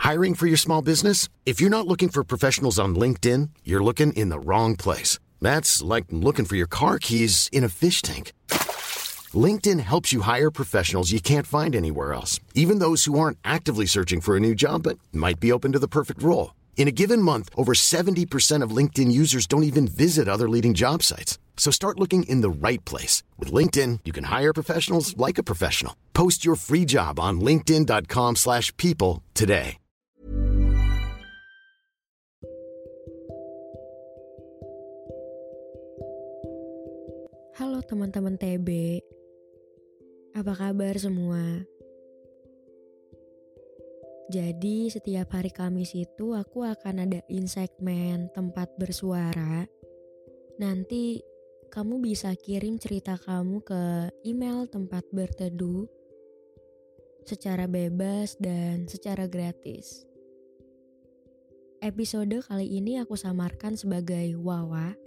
Hiring for your small business? If you're not looking for professionals on LinkedIn, you're looking in the wrong place. That's like looking for your car keys in a fish tank. LinkedIn helps you hire professionals you can't find anywhere else, even those who aren't actively searching for a new job but might be open to the perfect role. In a given month, over 70% of LinkedIn users don't even visit other leading job sites. So start looking in the right place. With LinkedIn, you can hire professionals like a professional. Post your free job on linkedin.com/people today. Halo teman-teman TB, apa kabar semua? Jadi setiap hari Kamis itu aku akan adain segmen tempat bersuara. Nanti kamu bisa kirim cerita kamu ke email tempat berteduh secara bebas dan secara gratis. Episode kali ini aku samarkan sebagai Wawa.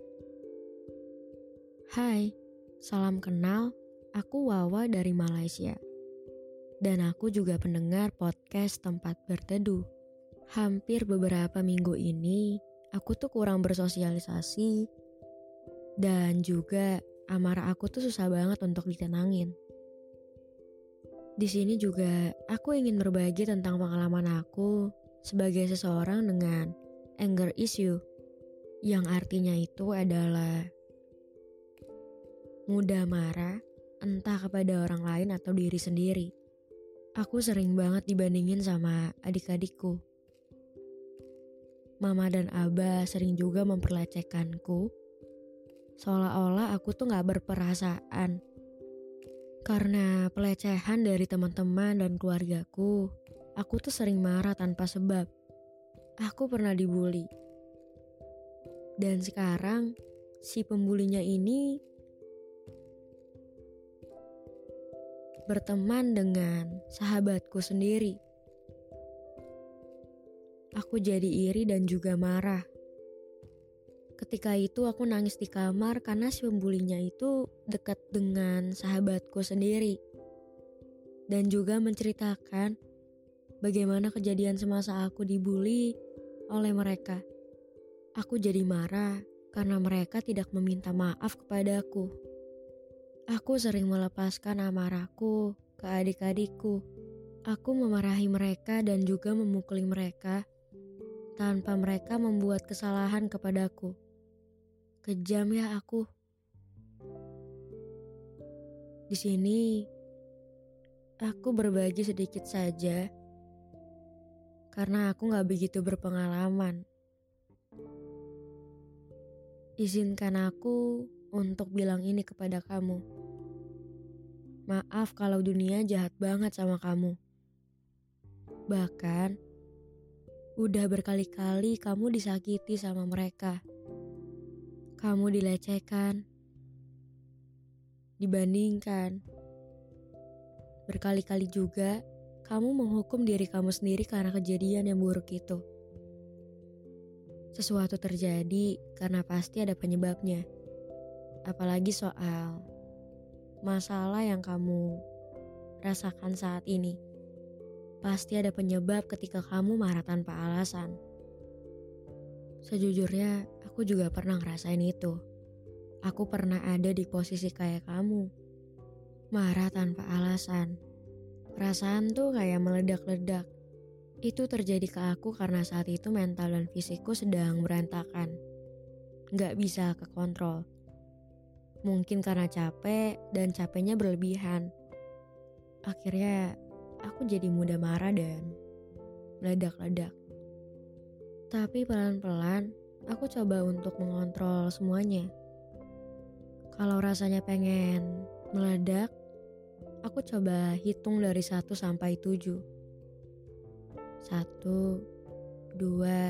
Hai, salam kenal, aku Wawa dari Malaysia. Dan aku juga pendengar podcast tempat berteduh. Hampir beberapa minggu ini, aku tuh kurang bersosialisasi. Dan juga amarah aku tuh susah banget untuk ditenangin. Di sini juga aku ingin berbagi tentang pengalaman aku sebagai seseorang dengan anger issue. Yang artinya itu adalah mudah marah, entah kepada orang lain atau diri sendiri. Aku sering banget dibandingin sama adik-adikku. Mama dan Abah sering juga memperlecehkanku, seolah-olah aku tuh gak berperasaan. Karena pelecehan dari teman-teman dan keluargaku, aku tuh sering marah tanpa sebab. Aku pernah dibully. Dan sekarang, si pembulinya ini berteman dengan sahabatku sendiri. Aku jadi iri dan juga marah. Ketika itu aku nangis di kamar karena si pembulinya itu dekat dengan sahabatku sendiri. Dan juga menceritakan bagaimana kejadian semasa aku dibully oleh mereka. Aku jadi marah karena mereka tidak meminta maaf kepadaku. Aku sering melepaskan amarahku ke adik-adikku. Aku memarahi mereka dan juga memukuli mereka tanpa mereka membuat kesalahan kepadaku. Kejam ya aku. Di sini, aku berbagi sedikit saja karena aku gak begitu berpengalaman. Izinkan aku untuk bilang ini kepada kamu. Maaf kalau dunia jahat banget sama kamu. Bahkan, udah berkali-kali kamu disakiti sama mereka. Kamu dilecehkan, dibandingkan. Berkali-kali juga, kamu menghukum diri kamu sendiri karena kejadian yang buruk itu. Sesuatu terjadi karena pasti ada penyebabnya. Apalagi soal masalah yang kamu rasakan saat ini. Pasti ada penyebab ketika kamu marah tanpa alasan. Sejujurnya, aku juga pernah ngerasain itu. Aku pernah ada di posisi kayak kamu. Marah tanpa alasan. Perasaan tuh kayak meledak-ledak. Itu terjadi ke aku karena saat itu mental dan fisikku sedang berantakan. Gak bisa kekontrol. Mungkin karena capek dan capeknya berlebihan. Akhirnya aku jadi mudah marah dan meledak-ledak. Tapi pelan-pelan aku coba untuk mengontrol semuanya. Kalau rasanya pengen meledak, aku coba hitung dari 1 sampai 7. 1, 2,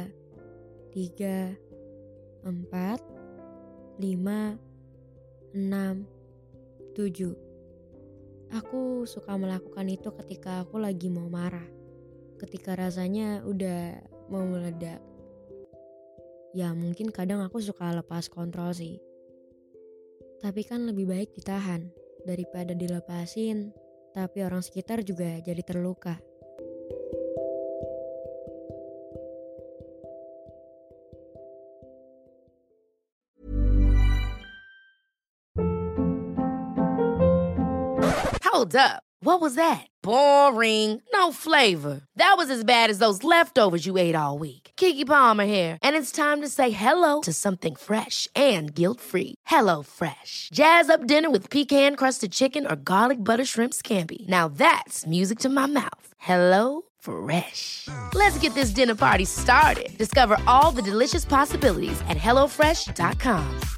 3, 4, 5, 6, 7. Aku suka melakukan itu ketika aku lagi mau marah. Ketika rasanya udah mau meledak. Ya mungkin kadang aku suka lepas kontrol sih. Tapi kan lebih baik ditahan daripada dilepasin, tapi orang sekitar juga jadi terluka. Hold up. What was that? Boring. No flavor. That was as bad as those leftovers you ate all week. Keke Palmer here, and it's time to say hello to something fresh and guilt-free. Hello Fresh. Jazz up dinner with pecan-crusted chicken or garlic butter shrimp scampi. Now that's music to my mouth. Hello Fresh. Let's get this dinner party started. Discover all the delicious possibilities at hellofresh.com.